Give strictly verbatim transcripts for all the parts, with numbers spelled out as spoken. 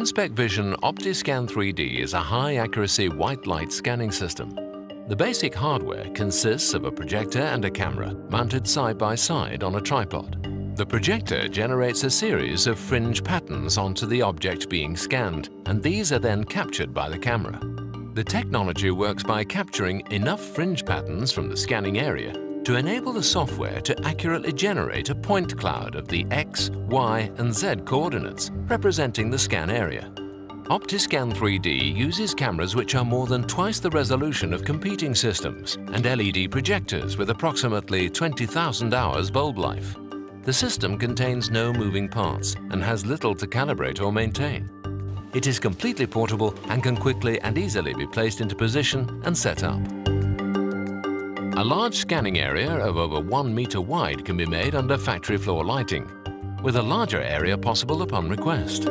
InspecVision OptiScan three D is a high-accuracy white light scanning system. The basic hardware consists of a projector and a camera mounted side by side on a tripod. The projector generates a series of fringe patterns onto the object being scanned, and these are then captured by the camera. The technology works by capturing enough fringe patterns from the scanning area to enable the software to accurately generate a point cloud of the X, Y, and Z coordinates representing the scan area. OptiScan three D uses cameras which are more than twice the resolution of competing systems and L E D projectors with approximately twenty thousand hours bulb life. The system contains no moving parts and has little to calibrate or maintain. It is completely portable and can quickly and easily be placed into position and set up. A large scanning area of over one meter wide can be made under factory floor lighting, with a larger area possible upon request.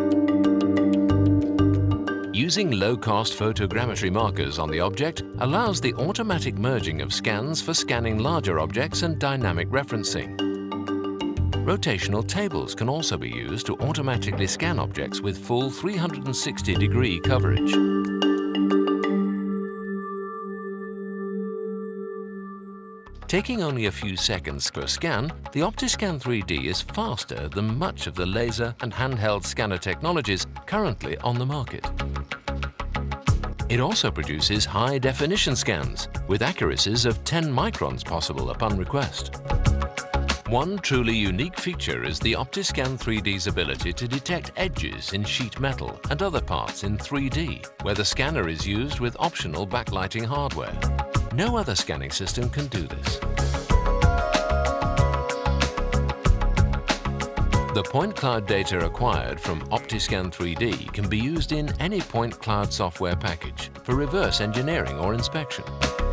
Using low-cost photogrammetry markers on the object allows the automatic merging of scans for scanning larger objects and dynamic referencing. Rotational tables can also be used to automatically scan objects with full three hundred sixty degree coverage. Taking only a few seconds per scan, the OptiScan three D is faster than much of the laser and handheld scanner technologies currently on the market. It also produces high-definition scans, with accuracies of ten microns possible upon request. One truly unique feature is the OptiScan three D's ability to detect edges in sheet metal and other parts in three D, where the scanner is used with optional backlighting hardware. No other scanning system can do this. The point cloud data acquired from OptiScan three D can be used in any point cloud software package for reverse engineering or inspection.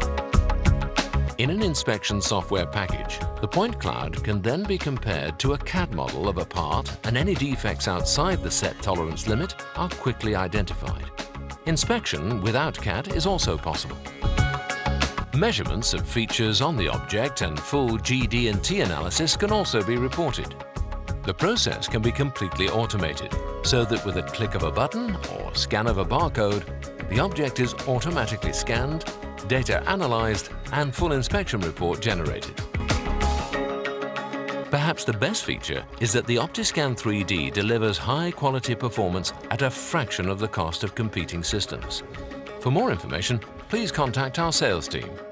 In an inspection software package, the point cloud can then be compared to a C A D model of a part, and any defects outside the set tolerance limit are quickly identified. Inspection without C A D is also possible. Measurements of features on the object and full G D and T analysis can also be reported. The process can be completely automated, so that with a click of a button or scan of a barcode, the object is automatically scanned, data analyzed, and full inspection report generated. Perhaps the best feature is that the OptiScan three D delivers high-quality performance at a fraction of the cost of competing systems. For more information, please contact our sales team.